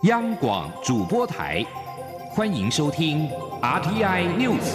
央广主播台，欢迎收听 RTI News。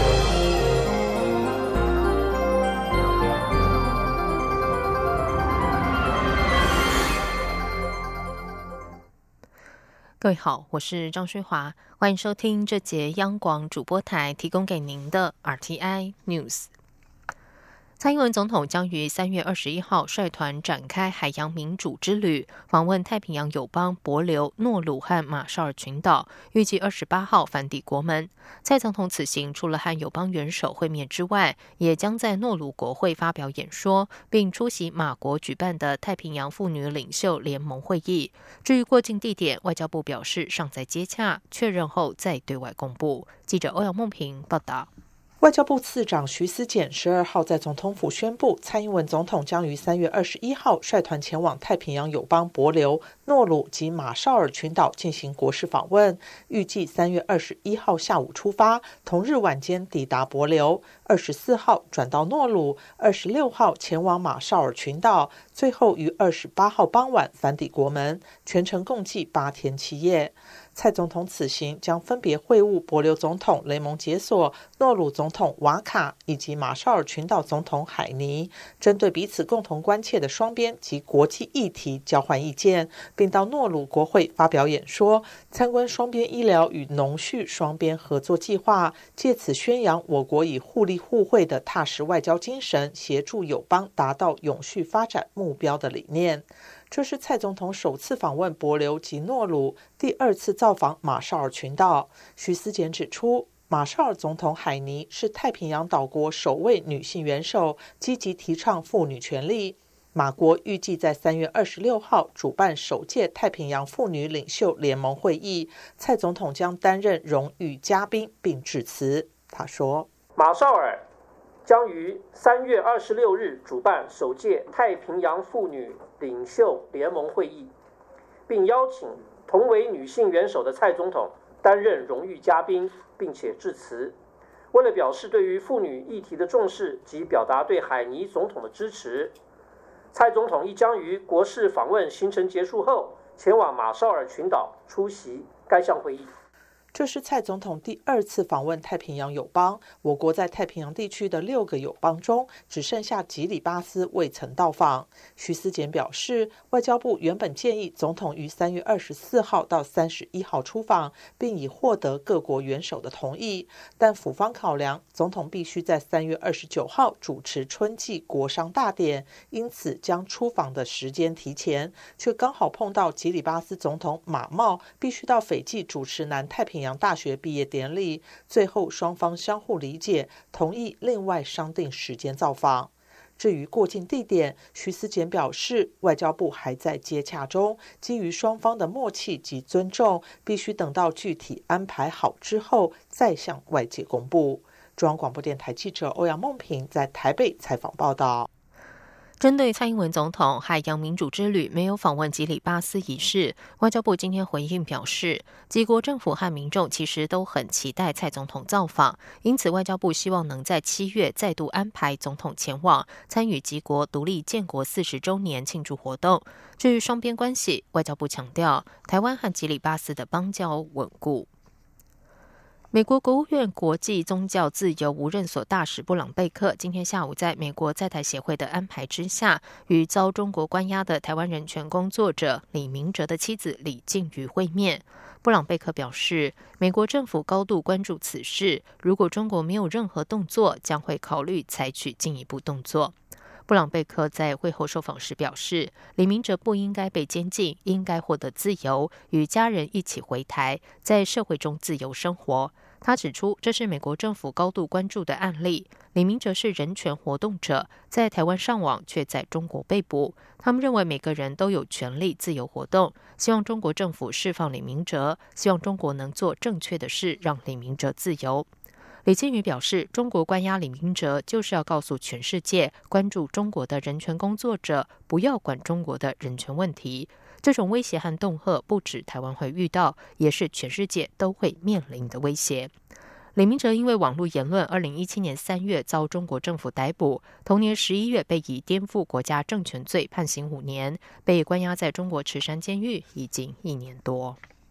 各位好，我是张水华，欢迎收听这节央广主播台提供给您的 RTI News。蔡英文总统将于3月21号率团展开海洋民主之旅，访问太平洋友邦帛琉、诺鲁和马绍尔群岛，预计28号返抵国门。蔡总统此行除了和友邦元首会面之外，也将在诺鲁国会发表演说，并出席马国举办的太平洋妇女领袖联盟会议。至于过境地点，外交部表示尚在接洽，确认后再对外公布。记者欧阳梦平报道。 外交部次长徐思俭12号在总统府宣布，蔡英文总统将于3月21号率团前往太平洋友邦帛琉、诺鲁及马绍尔群岛进行国事访问，预计3月21号下午出发，同日晚间抵达帛琉，24号转到诺鲁，26号前往马绍尔群岛，最后于28号傍晚返抵国门，全程共计8天7夜。蔡总统此行将分别会晤帛琉总统雷蒙杰索、诺鲁总统瓦卡以及马绍尔群岛总统海尼，针对彼此共同关切的双边及国际议题交换意见，并到诺鲁国会发表演说，参观双边医疗与农畜双边合作计划，借此宣扬我国以互利互惠的踏实外交精神，协助友邦达到永续发展目标的理念。这是蔡总统首次访问帛琉及诺鲁，第2次造访马绍尔群岛。徐思俭指出，马绍尔总统海尼是太平洋岛国首位女性元首，积极提倡妇女权利。马国预计在3月26号主办首届太平洋妇女领袖联盟会议，蔡总统将担任荣誉嘉宾并致辞。他说， 马绍尔将于3月26日主办首届太平洋妇女领袖联盟会议，并邀请同为女性元首的蔡总统担任荣誉嘉宾，并且致辞。为了表示对于妇女议题的重视及表达对海尼总统的支持，蔡总统亦将于国事访问行程结束后，前往马绍尔群岛出席该项会议。 这是蔡总统第2次访问太平洋友邦，我国在太平洋地区的6个友邦中，只剩下吉里巴斯未曾到访。徐思俭表示，外交部原本建议总统于3月24号到31号出访，并已获得各国元首的同意，但府方考量，总统必须在3月29号主持春季国商大典，因此将出访的时间提前，却刚好碰到吉里巴斯总统马茂必须到斐济主持南太平洋大学毕业典礼，最后双方相互理解，同意另外商定时间造访。至于过境地点，徐思俭表示，外交部还在接洽中，基于双方的默契及尊重，必须等到具体安排好之后再向外界公布。中央广播电台记者欧阳梦平在台北采访报道。 针对蔡英文总统海洋民主之旅没有访问吉里巴斯一事，外交部今天回应表示，几国政府和民众其实都很期待蔡总统造访，因此外交部希望能在7月再度安排总统前往，参与几国独立建国40周年庆祝活动。至于双边关系，外交部强调，台湾和吉里巴斯的邦交稳固。美国国务院国际宗教自由无任所大使布朗贝克今天下午在美国在台协会的安排之下，与遭中国关押的台湾人权工作者李明哲的妻子李静瑜会面。布朗贝克表示，美国政府高度关注此事，如果中国没有任何动作，将会考虑采取进一步动作。布朗贝克在会后受访时表示，李明哲不应该被监禁，应该获得自由，与家人一起回台，在社会中自由生活。他指出，这是美国政府高度关注的案例。李明哲是人权活动者，在台湾上网，却在中国被捕。他们认为每个人都有权利自由活动，希望中国政府释放李明哲，希望中国能做正确的事，让李明哲自由。李静瑜表示，中国关押李明哲就是要告诉全世界，关注中国的人权工作者，不要管中国的人权问题。这种威胁和恫吓不止台湾会遇到，也是全世界都会面临的威胁。李明哲因为网络言论2017年3月遭中国政府逮捕，同年11月被以颠覆国家政权罪判刑5年，被关押在中国池山监狱已经1年多。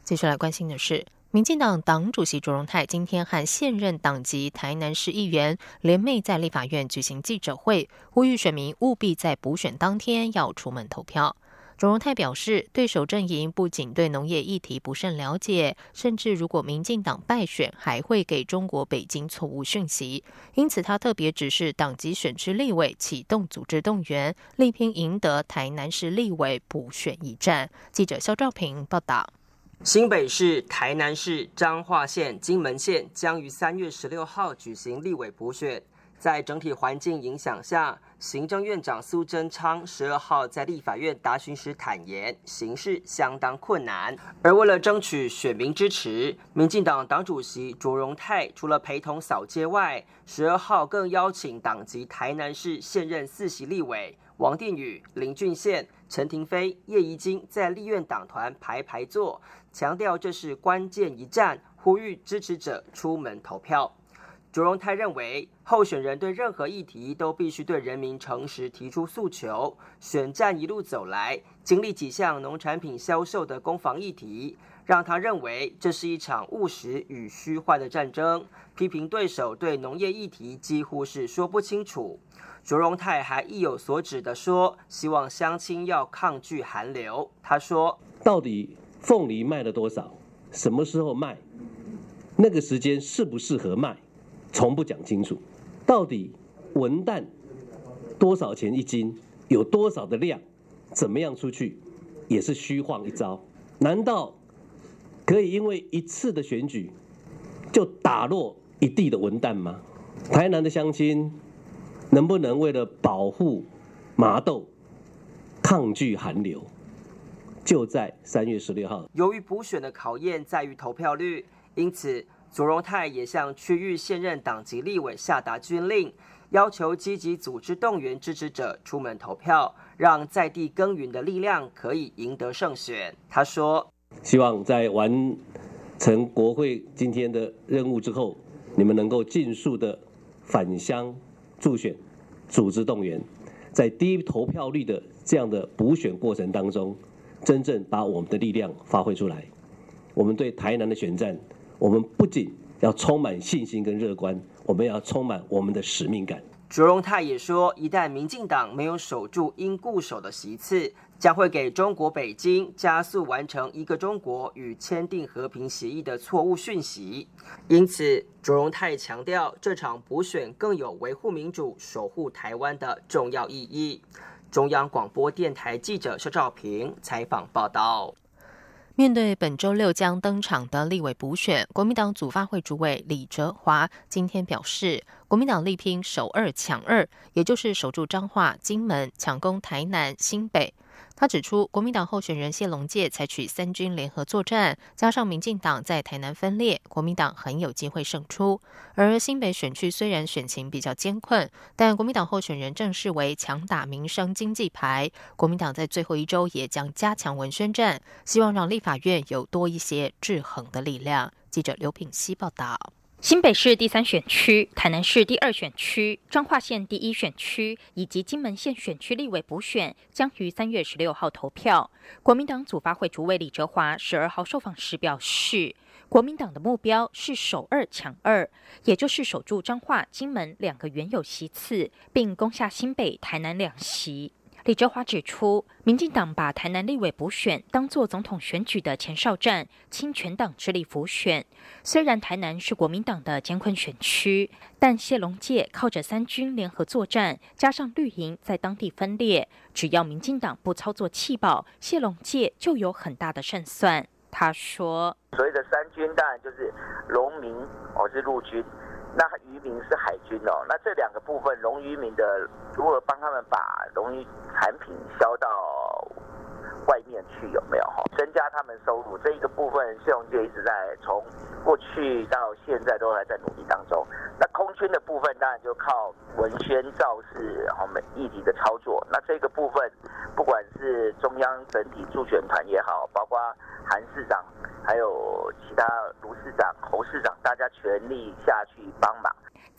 继续来关心的是，民进党党主席卓荣泰今天和现任党籍台南市议员联袂在立法院举行记者会，呼吁选民务必在补选当天要出门投票。卓荣泰表示，对手阵营不仅对农业议题不甚了解，甚至如果民进党败选，还会给中国北京错误讯息。因此，他特别指示党籍选区立委启动组织动员，力拼赢得台南市立委补选一战。记者肖兆平报道。 新北市、台南市、彰化县、金门县将于3月16号举行立委补选。在整体环境影响下，行政院长苏贞昌12号在立法院答询时坦言，形势相当困难。而为了争取选民支持，民进党党主席卓荣泰除了陪同扫街外，12号更邀请党籍台南市现任4席立委王定宇、林俊宪、陈亭妃、叶宜津在立院党团排坐，强调这是关键一战，呼吁支持者出门投票。卓荣泰认为，候选人对任何议题都必须对人民诚实提出诉求。选战一路走来，经历几项农产品销售的攻防议题，让他认为这是一场务实与虚幻的战争。批评对手对农业议题几乎是说不清楚。卓荣泰还意有所指地说，希望乡亲要抗拒寒流。他说：“ 到底凤梨卖了多少？什么时候卖？那个时间适不适合卖？从不讲清楚。到底文旦多少钱一斤？有多少的量？怎么样出去？也是虚晃一招。难道可以因为一次的选举就打落一地的文旦吗？台南的乡亲能不能为了保护麻豆，抗拒寒流？就在3月16号。 由于补选的考验在于投票率，因此卓荣泰也向区域现任党籍立委下达军令，要求积极组织动员支持者出门投票，让在地耕耘的力量可以赢得胜选。他说：“ 希望在完成国会今天的任务之后，你们能够尽速的返乡助选，组织动员，在低投票率的这样的补选过程当中，真正把我们的力量发挥出来。我们对台南的选战，我们不仅要充满信心跟乐观，我们要充满我们的使命感。” 卓荣泰也说，一旦民进党没有守住应固守的席次，将会给中国北京加速完成一个中国与签订和平协议的错误讯息。因此，卓荣泰强调，这场补选更有维护民主、守护台湾的重要意义。中央广播电台记者肖兆平采访报道。 面对本周六将登场的立委补选，国民党组发会主委李哲华今天表示，国民党力拼守2抢2，也就是守住彰化、金门，抢攻台南、新北。他指出，国民党候选人谢龙介采取3军联合作战，加上民进党在台南分裂，国民党很有机会胜出。而新北选区虽然选情比较艰困，但国民党候选人正视为强打民生经济牌，国民党在最后一周也将加强文宣战，希望让立法院有多一些制衡的力量。记者刘品希报道。 新北市第3选区、台南市第2选区、彰化县第1选区以及金门县选区立委补选将于3月16号投票。国民党组发会主委李哲华12号受访时表示，国民党的目标是守2抢2，也就是守住彰化、金门2个原有席次，并攻下新北、台南2席。李哲华指出，民进党把台南立委补选当作总统选举的前哨战，倾全党之力辅选。虽然台南是国民党的艰困选区，但谢龙介靠着3军联合作战，加上绿营在当地分裂，只要民进党不操作弃保，谢龙介就有很大的胜算。他说：“ 所谓的3军当然就是农民是陆军。”那渔民是海军那这2个部分，农渔民的如何帮他们把农渔产品销到外面去，有没有增加他们收入？这一个部分，谢龙介一直在从过去到现在都还在努力当中。那空军的部分，当然就靠文宣造势议题的操作。那这个部分，不管是中央整体助选团也好，包括韩市长，还有其他卢市长、侯市长，大家全力下去帮忙。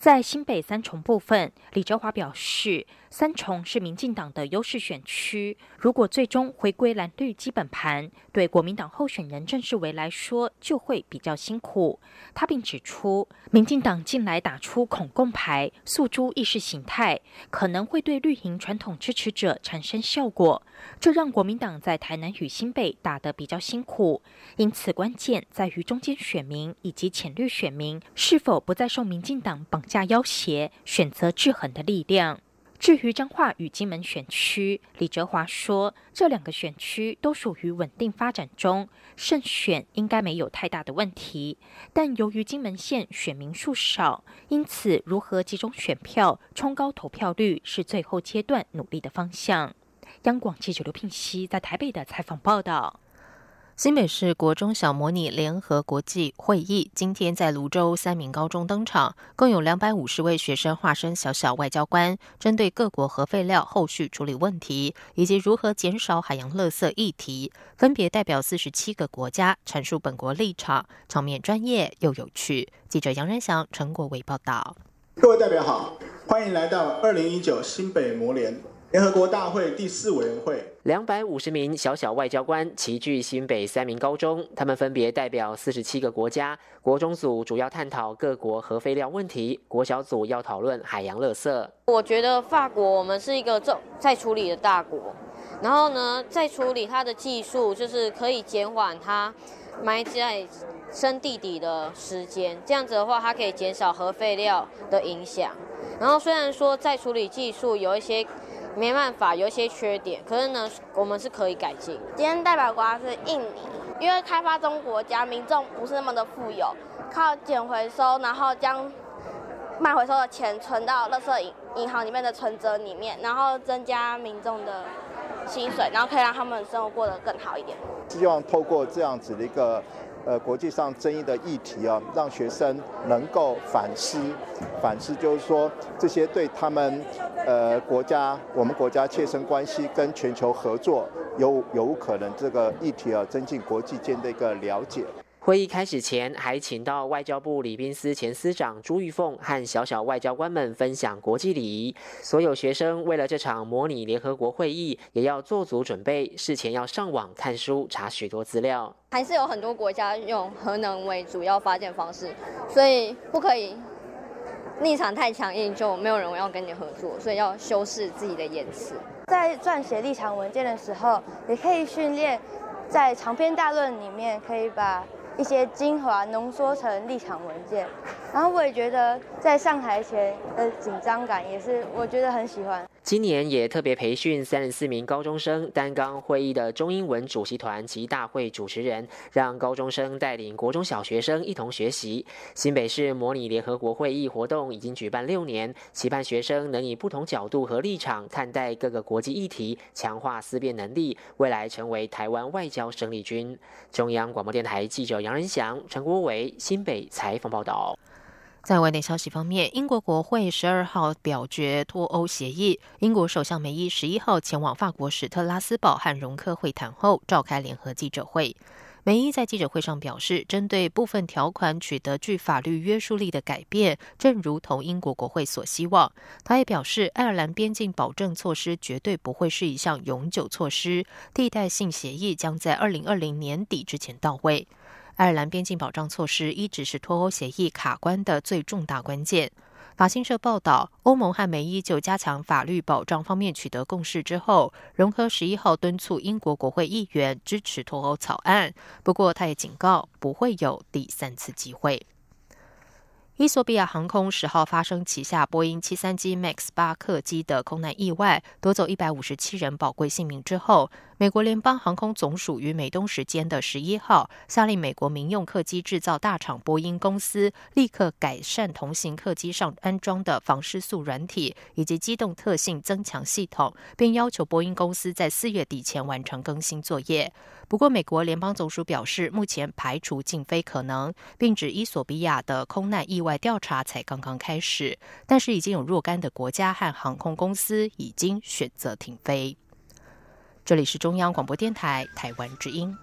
在新北三重部分，李哲华表示，三重是民进党的优势选区，如果最终回归蓝绿基本盘，对国民党候选人郑世维来说就会比较辛苦。他并指出，民进党近来打出恐共牌、诉诸意识形态，可能会对绿营传统支持者产生效果，这让国民党在台南与新北打得比较辛苦。因此，关键在于中间选民以及浅绿选民是否不再受民进党绑架要挟，选择制衡的力量。至于彰化与金门选区，李哲华说，这两个选区都属于稳定发展中，胜选应该没有太大的问题。但由于金门县选民数少，因此如何集中选票、冲高投票率是最后阶段努力的方向。央广记者刘聘熙在台北的采访报道。 新北市国中小模拟联合国际会议今天在蘆洲三民高中登场，共有250位学生化身小小外交官，针对各国核废料后续处理问题以及如何减少海洋垃圾议题，分别代表47个国家阐述本国立场，场面专业又有趣。记者杨仁祥、陈国伟报道。 各位代表好，欢迎来到2019新北模联联合国大会第4委员会。 250名小小外交官齐聚新北三民高中，他们分别代表47个国家。国中组主要探讨各国核废料问题，国小组要讨论海洋垃圾。 我觉得法国我们是一个在处理的大国，然后呢，在处理它的技术，就是可以减缓它埋在深地底的时间，这样子的话，它可以减少核废料的影响。然后虽然说在处理技术有一些没办法，有一些缺点，可是呢，我们是可以改进。 今天代表国家是印尼，因为开发中国家民众不是那么的富有，靠捡回收，然后将卖回收的钱存到垃圾银行里面的存折里面，然后增加民众的薪水，然后可以让他们生活过得更好一点。 希望透过这样子的一个国际上争议的议题啊，让学生能够反思就是说这些对他们我们国家切身关系跟全球合作有可能这个议题啊，增进国际间的一个了解。 会议开始前，还请到外交部礼宾司前司长朱玉凤和小小外交官们分享国际礼仪。所有学生为了这场模拟联合国会议，也要做足准备，事前要上网看书，查许多资料。 还是有很多国家用核能为主要发电方式，所以不可以立场太强硬，就没有人要跟你合作，所以要修饰自己的言辞。 在撰写立场文件的时候，也可以训练在长篇大论里面可以把一些精华浓缩成立场文件。然后我也觉得在上台前的紧张感也是我觉得很喜欢。 今年也特别培训34名高中生担纲会议的中英文主席团及大会主持人，让高中生带领国中小学生一同学习。新北市模拟联合国会议活动已经举办6年，期盼学生能以不同角度和立场看待各个国际议题，强化思辨能力，未来成为台湾外交生力军。中央广播电台记者杨仁祥、陈国伟新北采访报道。 在外电消息方面，英国国会12号表决脱欧协议。英国首相梅伊11号前往法国史特拉斯堡和容克会谈后，召开联合记者会。梅伊在记者会上表示，针对部分条款取得具法律约束力的改变，正如同英国国会所希望。他也表示，爱尔兰边境保证措施绝对不会是一项永久措施，替代性协议将在2020年底之前到位。爱尔兰边境保障措施一直是脱欧协议卡关的最重大关键。法新社报道，欧盟和梅伊就加强法律保障方面取得共识之后，容克11号敦促英国国会议员支持脱欧草案，不过他也警告不会有第3次机会。伊索比亚航空10号发生旗下波音737 MAX 8客机的空难意外，夺走157人宝贵性命之后，美国联邦航空总署于美东时间的11号下令美国民用客机制造大厂波音公司立刻改善同型客机上安装的防失速软体以及机动特性增强系统，并要求波音公司在4月底前完成更新作业。不过，美国联邦总署表示，目前排除竟非可能，并指伊索比亚的空难意外调查才刚刚开始，但是已经有若干的国家和航空公司已经选择停飞。这里是中央广播电台台湾之音。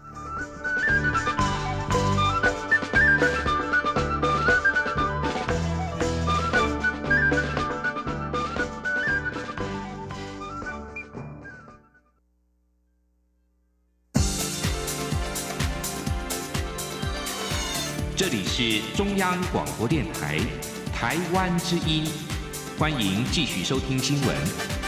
这里是中央广播电台台湾之音，欢迎继续收听新闻。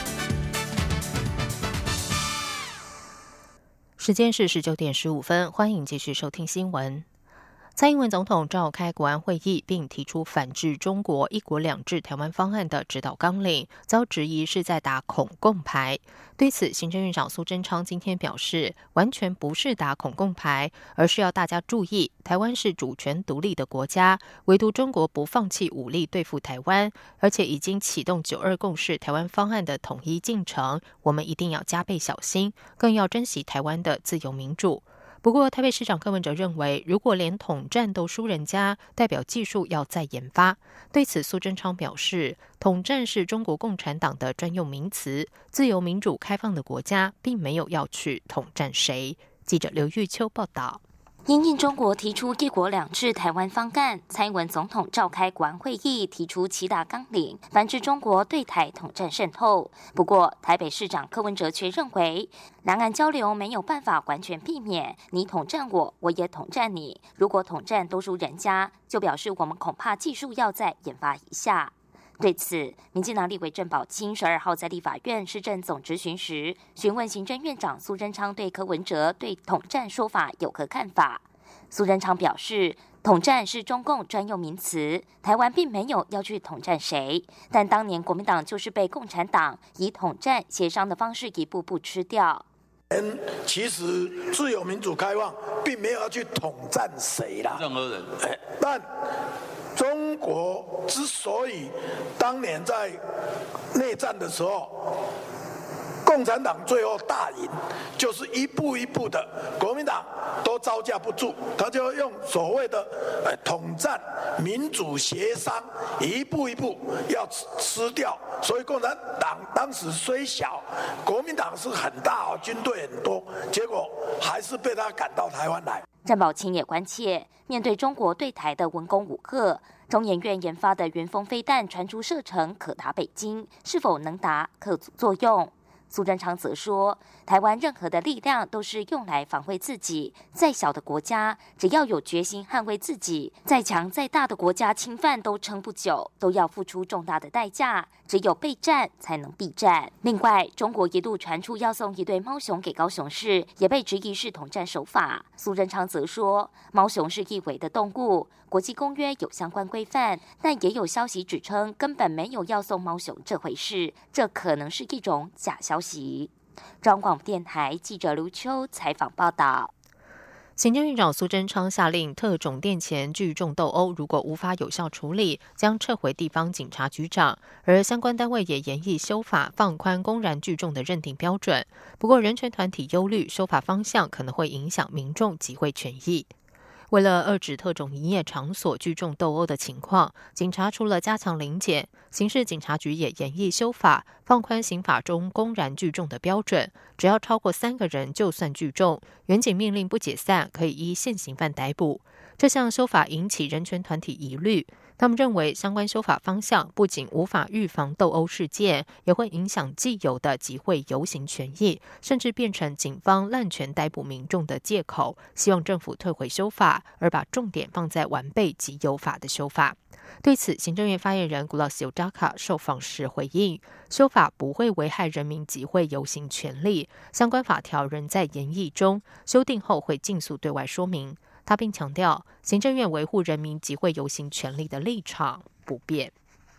时间是19点15分，欢迎继续收听新闻。蔡英文总统召开国安会议，并提出反制中国一国两制台湾方案的指导纲领，遭质疑是在打恐共牌。对此，行政院长苏贞昌今天表示，完全不是打恐共牌，而是要大家注意，台湾是主权独立的国家，唯独中国不放弃武力对付台湾，而且已经启动9·2共识台湾方案的统一进程，我们一定要加倍小心，更要珍惜台湾的自由民主。不过，台北市长柯文哲认为，如果连统战都输人家，代表技术要再研发。对此，苏贞昌表示，统战是中国共产党的专用名词，自由民主开放的国家并没有要去统战谁。记者刘玉秋报道。 因应中国提出一国两制台湾方案，蔡英文总统召开国安会议，提出7大纲领，反制中国对台统战渗透。不过，台北市长柯文哲却认为，两岸交流没有办法完全避免你统战我，我也统战你。如果统战都输人家，就表示我们恐怕技术要再研发一下。对此，民进党立委郑宝清12号在立法院市政总质询时，询问行政院长苏贞昌对柯文哲对统战说法有何看法。苏贞昌表示，统战是中共专用名词，台湾并没有要去统战谁，但当年国民党就是被共产党以统战协商的方式一步步吃掉。 其实自由民主开放并没有要去统战谁啦，任何人。但中国之所以当年在内战的时候，共产党最后大赢，就是一步一步的，国民党都招架不住，他就用所谓的统战、民主协商，一步一步要吃掉。所以共产党当时虽小，国民党是很大，军队很多，结果还是被他赶到台湾来。 郑宝清也关切，面对中国对台的文攻武吓，中研院研发的元锋飞弹传出射程可达北京，是否能达可阻作用？苏贞昌则说，台湾任何的力量都是用来防卫自己，再小的国家只要有决心捍卫自己，再强再大的国家侵犯都撑不久，都要付出重大的代价，只有备战才能避战。另外，中国一度传出要送一对猫熊给高雄市，也被质疑是统战手法。苏贞昌则说，猫熊是易危的动物，国际公约有相关规范，但也有消息指称根本没有要送猫熊这回事，这可能是一种假消息。中央广播电台记者刘秋采访报道。 行政院长苏贞昌下令，特种店前聚众斗殴如果无法有效处理，将撤回地方警察局长。而相关单位也研议修法，放宽公然聚众的认定标准。不过，人权团体忧虑修法方向可能会影响民众集会权益。为了遏止特种营业场所聚众斗殴的情况，警察除了加强临检，刑事警察局也研议修法，放宽刑法中公然聚众的标准，只要超过3个人就算聚众，原警命令不解散，可以依现行犯逮捕。这项修法引起人权团体疑虑，他们认为相关修法方向不仅无法预防斗殴事件，也会影响既有的集会游行权益，甚至变成警方滥权逮捕民众的借口。希望政府退回修法，而把重点放在完备及有法的修法。对此，行政院发言人古老斯尤扎卡受访时回应，修法不会危害人民集会游行权利，相关法条仍在研议中，修订后会尽速对外说明。他并强调，行政院维护人民集会游行权利的立场不变。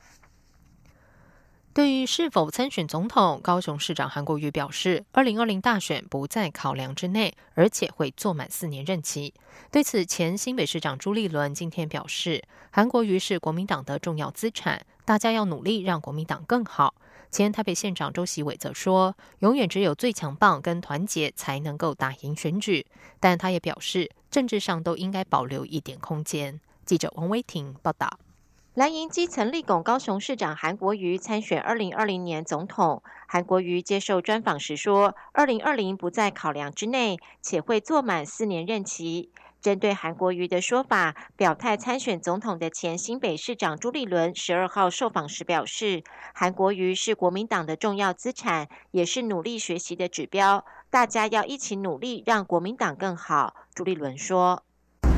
对于是否参选总统，高雄市长韩国瑜表示，2020大选不在考量之内，而且会做满4年任期。对此，前新北市长朱立伦今天表示，韩国瑜是国民党的重要资产，大家要努力让国民党更好。前台北县长周锡伟则说，永远只有最强棒跟团结才能够打赢选举，但他也表示，政治上都应该保留一点空间。记者王威婷报道。蓝营基层力拱高雄市长韩国瑜参选2020年总统。韩国瑜接受专访时说，2020不在考量之内，且会做满4年任期。针对韩国瑜的说法，表态参选总统的前新北市长朱立伦12号受访时表示，韩国瑜是国民党的重要资产，也是努力学习的指标，大家要一起努力让国民党更好。朱立伦说，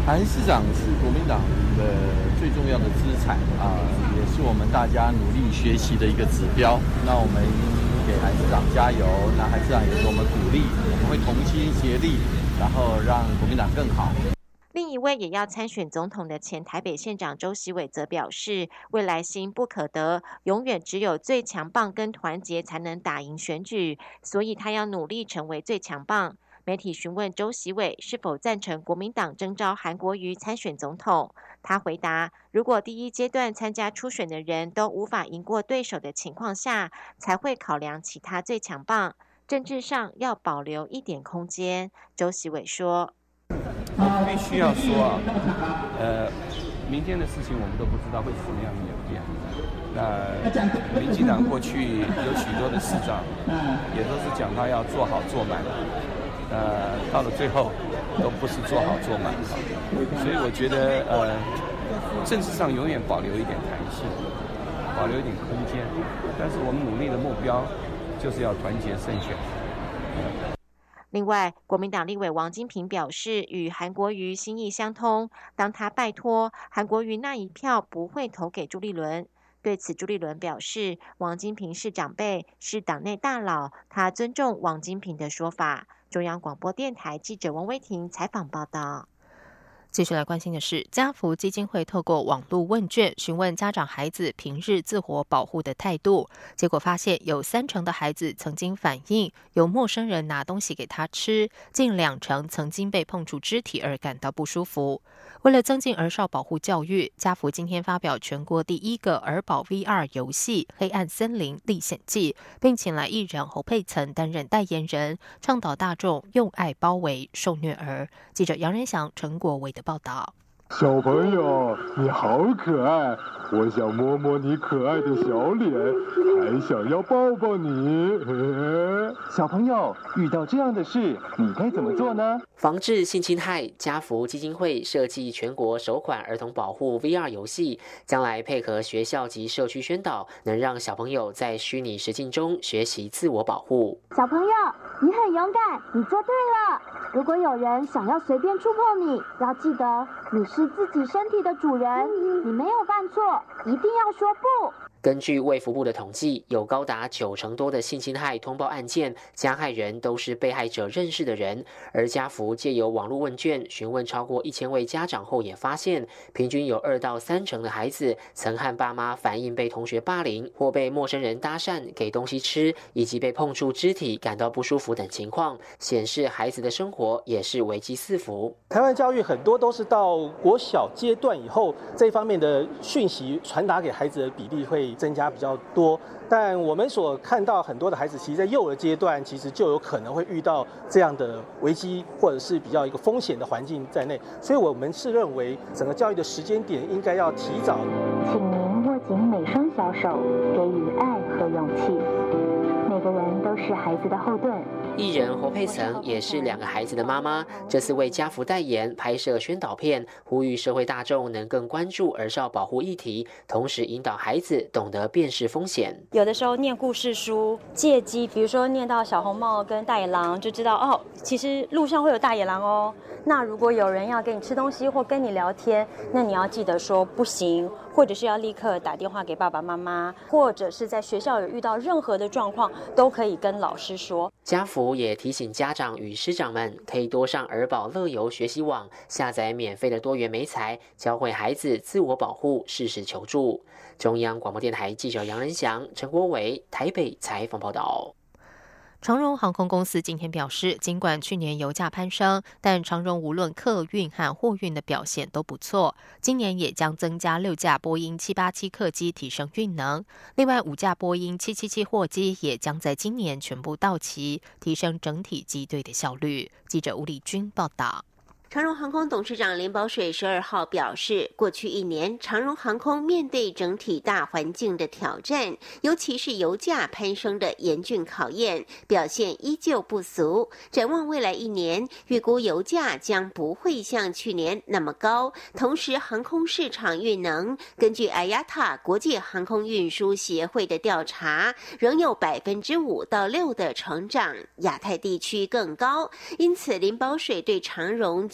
韩市长是国民党的最重要的资产也是我们大家努力学习的一个指标。那我们给韩市长加油，那韩市长也给我们鼓励，我们会同心协力，然后让国民党更好。 另一位也要参选总统的前台北县长周锡伟则表示，未来心不可得，永远只有最强棒跟团结才能打赢选举，所以他要努力成为最强棒。媒体询问周锡伟是否赞成国民党征召韩国瑜参选总统，他回答，如果第一阶段参加初选的人都无法赢过对手的情况下，才会考量其他最强棒，政治上要保留一点空间。周锡伟说， 我必须要说明天的事情我们都不知道会怎么样演变。那民进党过去有许多的市长，也都是讲他要做好做满，到了最后都不是做好做满，所以我觉得政治上永远保留一点弹性，保留一点空间，但是我们努力的目标就是要团结胜选。 另外，国民党立委王金平表示，与韩国瑜心意相通，当他拜托韩国瑜那一票不会投给朱立伦。对此，朱立伦表示，王金平是长辈，是党内大佬，他尊重王金平的说法。中央广播电台记者王威婷采访报道。继续来关心的是，家福基金会透过网络问卷询问家长孩子平日自我保护的态度，结果发现有30%的孩子曾经反映有陌生人拿东西给他吃，近20%曾经被碰触肢体而感到不舒服。为了增进儿少保护教育，家福今天发表全国第1个儿保 VR 游戏《黑暗森林历险记》，并请来艺人侯佩岑担任代言人，倡导大众用爱包围受虐儿。记者杨仁祥、陈国维的报道。 小朋友，你好可爱，我想摸摸你可爱的小脸，还想要抱抱你。 小朋友，遇到这样的事，你该怎么做呢？ 防治性侵害，家福基金会设计全国首款儿童保护 VR 游戏，将来配合学校及社区宣导，能让小朋友在虚拟实境中学习自我保护。 小朋友，你很勇敢，你做对了。如果有人想要随便触碰你，要记得你是自己身体的主人，你没有犯错，一定要说不。 根据卫福部的统计，有高达90%多的性侵害通报案件，加害人都是被害者认识的人。而家福借由网络问卷询问超过1000位家长后，也发现平均有2到3%的孩子曾和爸妈反映被同学霸凌，或被陌生人搭讪、给东西吃，以及被碰触肢体感到不舒服等情况，显示孩子的生活也是危机四伏。 台湾教育很多都是到国小阶段以后，这方面的讯息传达给孩子的比例会增加比较多，但我们所看到很多的孩子，其实在幼儿阶段，其实就有可能会遇到这样的危机，或者是比较一个风险的环境在内，所以我们是认为整个教育的时间点应该要提早。 请您握紧每双小手，给予爱和勇气。每个人都是孩子的后盾。 艺人侯佩岑也是2个孩子的妈妈，这次为家福代言拍摄宣导片，呼吁社会大众能更关注儿少保护议题，同时引导孩子懂得辨识风险。 有的时候念故事书，借机，比如说念到小红帽跟大野狼，就知道哦，其实路上会有大野狼哦。那如果有人要给你吃东西或跟你聊天，那你要记得说不行，或者是要立刻打电话给爸爸妈妈，或者是在学校有遇到任何的状况，都可以跟老师说。 家福也提醒家长与师长们，可以多上儿保乐游学习网，下载免费的多元媒材，教会孩子自我保护，适时求助。中央广播电台记者杨仁祥、陈国伟台北采访报道。 长荣航空公司今天表示，尽管去年油价攀升，但长荣无论客运和货运的表现都不错。今年也将增加6架波音787客机，提升运能。另外5架波音777货机也将在今年全部到齐，提升整体机队的效率。记者吴丽君报道。 长荣航空董事长林保水12号表示，过去1年，长荣航空面对整体大环境的挑战，尤其是油价攀升的严峻考验，表现依旧不俗。展望未来1年，预估油价将不会像去年那么高，同时航空市场运能，根据 IATA 国际航空运输协会的调查，仍有5%到6%的成长，亚太地区更高。因此，林保水对长荣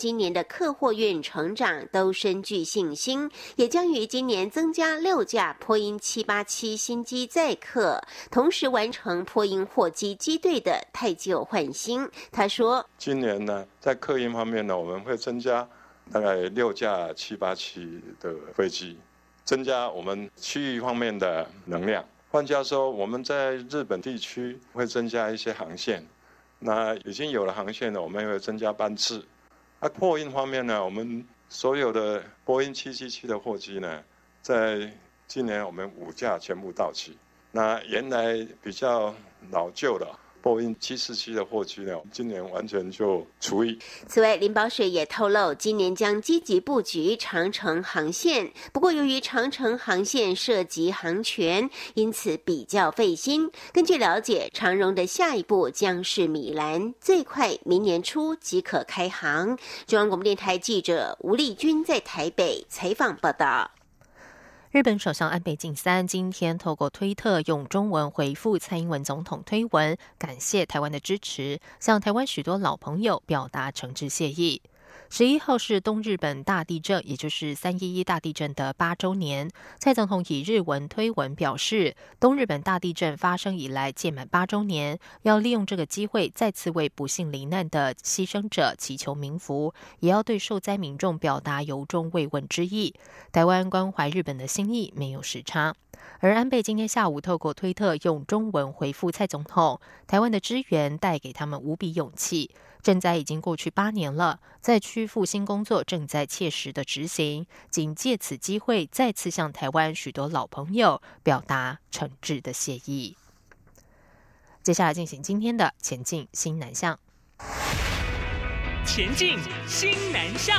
今年的客货运成长都深具信心，也将于今年增加6架波音787新机载客，同时完成波音货机机队的汰旧换新。他说， 今年呢，在客运方面呢，我们会增加大概6架787的飞机，增加我们区域方面的能量。换句话说，我们在日本地区会增加一些航线，那已经有了航线了，我们也会增加班次。货运方面呢，我们所有的波音777的货机呢，在今年我们5架全部到期。那原来比较老旧的波音747的货机呢，今年完全就除役。 此外，林保水也透露，今年将积极布局长程航线。不过，由于长程航线涉及航权，因此比较费心。根据了解，长荣的下一步将是米兰，最快明年初即可开航。中央广播电台记者吴丽君在台北采访报道。 日本首相安倍晋三今天透过推特用中文回复蔡英文总统推文，感谢台湾的支持，向台湾许多老朋友表达诚挚谢意。11号是东日本大地震，也就是311大地震的8周年。蔡总统以日文推文表示，东日本大地震发生以来届满8周年，要利用这个机会再次为不幸罹难的牺牲者祈求冥福，也要对受灾民众表达由衷慰问之意。台湾关怀日本的心意没有时差。而安倍今天下午透过推特用中文回复蔡总统，台湾的支援带给他们无比勇气。赈灾已经过去8年了，灾区复兴工作正在切实的执行，仅借此机会再次向台湾许多老朋友表达诚挚的谢意。接下来进行今天的前进新南向。 前进新南向。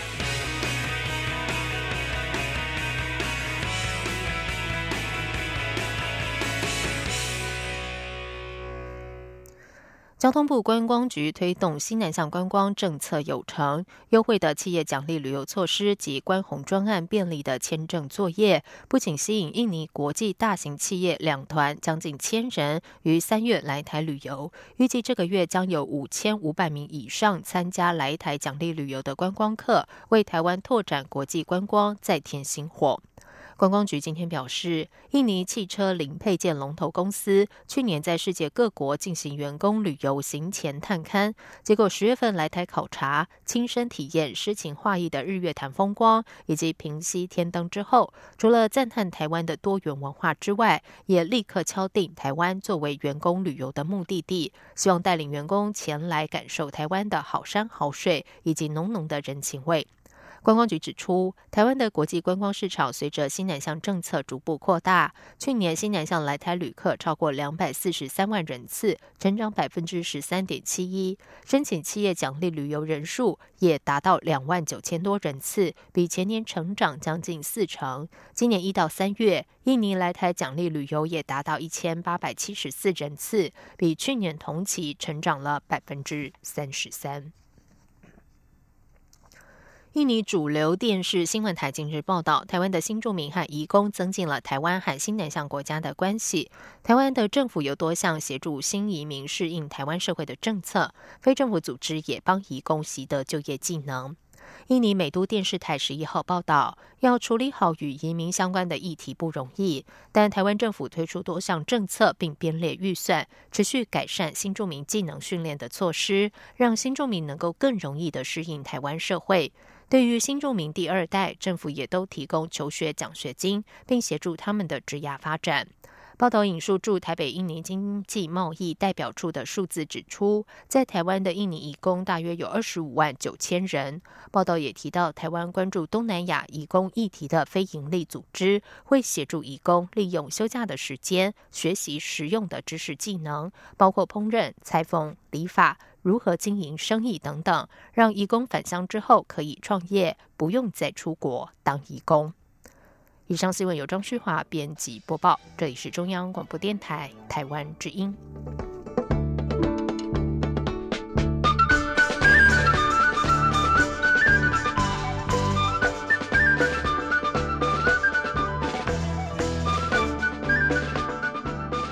交通部观光局推动新南向观光政策有成，优惠的企业奖励旅游措施及观红专案便利的签证作业，不仅吸引印尼国际大型企业2团将近1000人于3月来台旅游，预计这个月将有5500名以上参加来台奖励旅游的观光客，为台湾拓展国际观光再添新火。观光局今天表示，印尼汽车零配件龙头公司去年在世界各国进行员工旅游行前探勘，结果10月份来台考察，亲身体验诗情画意的日月潭风光以及平溪天灯之后，除了赞叹台湾的多元文化之外，也立刻敲定台湾作为员工旅游的目的地，希望带领员工前来感受台湾的好山好水以及浓浓的人情味。观光局指出，台湾的国际观光市场随着新南向政策逐步扩大，去年新南向来台旅客超过243万人次，成长13.71%，申请企业奖励旅游人数也达到29000多人次，比前年成长将近40%。今年1到3月，印尼来台奖励旅游也达到1874人次，比去年同期成长了33%。印尼主流电视新闻台近日报道，台湾的新住民和移工增进了台湾和新南向国家的关系。台湾的政府有多项协助新移民适应台湾社会的政策，非政府组织也帮移工习得就业技能。印尼美都电视台11号报道，要处理好与移民相关的议题不容易，但台湾政府推出多项政策并编列预算，持续改善新住民技能训练的措施，让新住民能够更容易地适应台湾社会。对于新住民第2代，政府也都提供求学奖学金，并协助他们的职涯发展。报道引述驻台北印尼经济贸易代表处的数字指出，在台湾的印尼移工大约有25万9千人。报道也提到，台湾关注东南亚移工议题的非营利组织会协助移工利用休假的时间学习实用的知识技能，包括烹饪、裁缝、理发、如何经营生意等等，让移工返乡之后可以创业，不用再出国当移工。以上新闻由张旭华编辑播报，这里是中央广播电台台湾之音。